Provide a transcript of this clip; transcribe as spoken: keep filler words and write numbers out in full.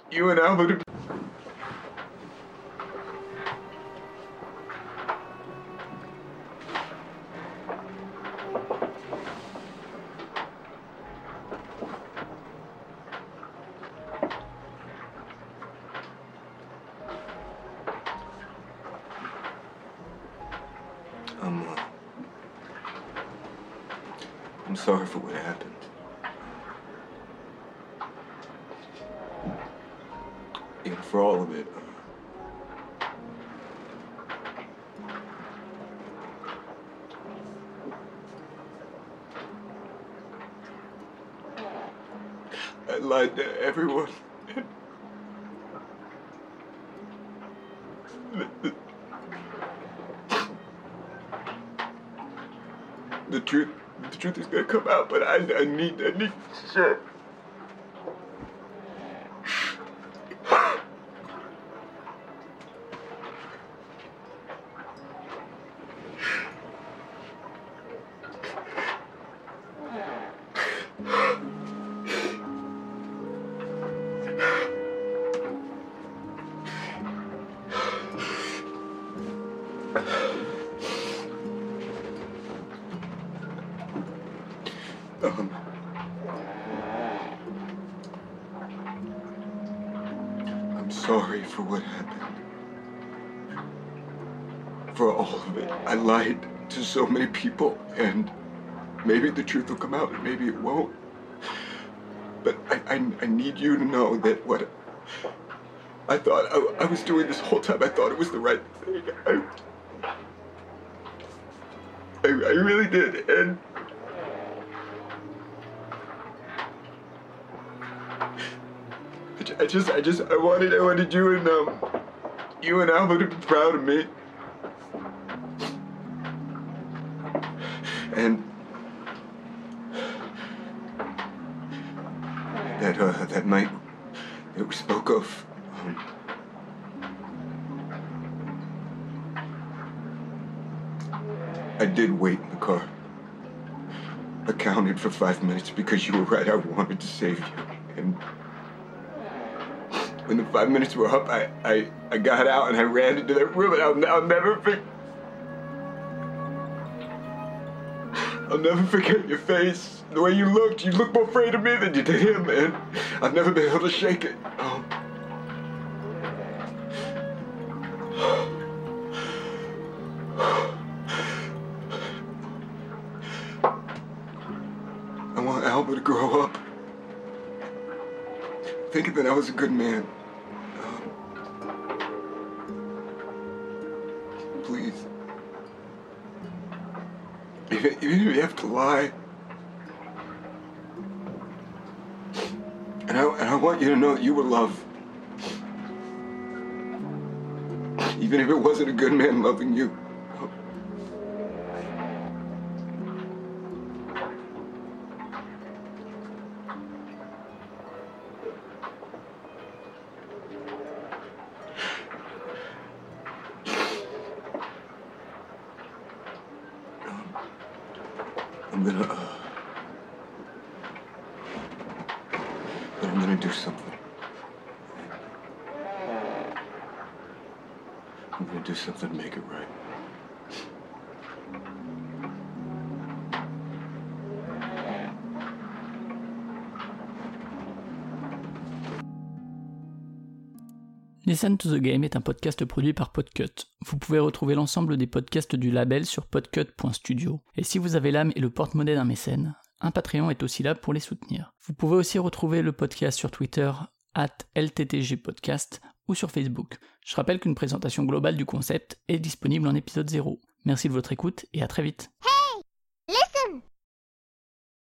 You and Albert. I'm, uh, I'm sorry for what happened. Yeah, for all of it. I lied to everyone. The, the, the truth, the truth is gonna come out, but I, I need, I need shit. Um, I'm sorry for what happened. For all of it. I lied to so many people, and maybe the truth will come out, and maybe it won't. But I, I, I need you to know that what I thought I, I was doing this whole time, I thought it was the right thing. I, I, I really did, and I just, I just, I wanted, I wanted you and, um, you and Albert to be proud of me. And that, uh, that night that we spoke of, um, I did wait in the car. I counted for five minutes because you were right, I wanted to save you. And when the five minutes were up, I, I, I got out and I ran into that room, and I'll, I'll never forget. I'll never forget your face. The way you looked, you looked more afraid of me than you did him, and I've never been able to shake it. Oh. I want Albert to grow up thinking that I was a good man. Um, please. Even, even if you have to lie. And I, and I want you to know that you were loved. Even if it wasn't a good man loving you. I'm gonna, uh, but I'm gonna do something. I'm gonna do something to make it right. Listen to the Game est un podcast produit par Podcut. Vous pouvez retrouver l'ensemble des podcasts du label sur podcut point studio. Et si vous avez l'âme et le porte-monnaie d'un mécène, un Patreon est aussi là pour les soutenir. Vous pouvez aussi retrouver le podcast sur Twitter, arobase L T T G podcast, ou sur Facebook. Je rappelle qu'une présentation globale du concept est disponible en épisode zéro. Merci de votre écoute et à très vite.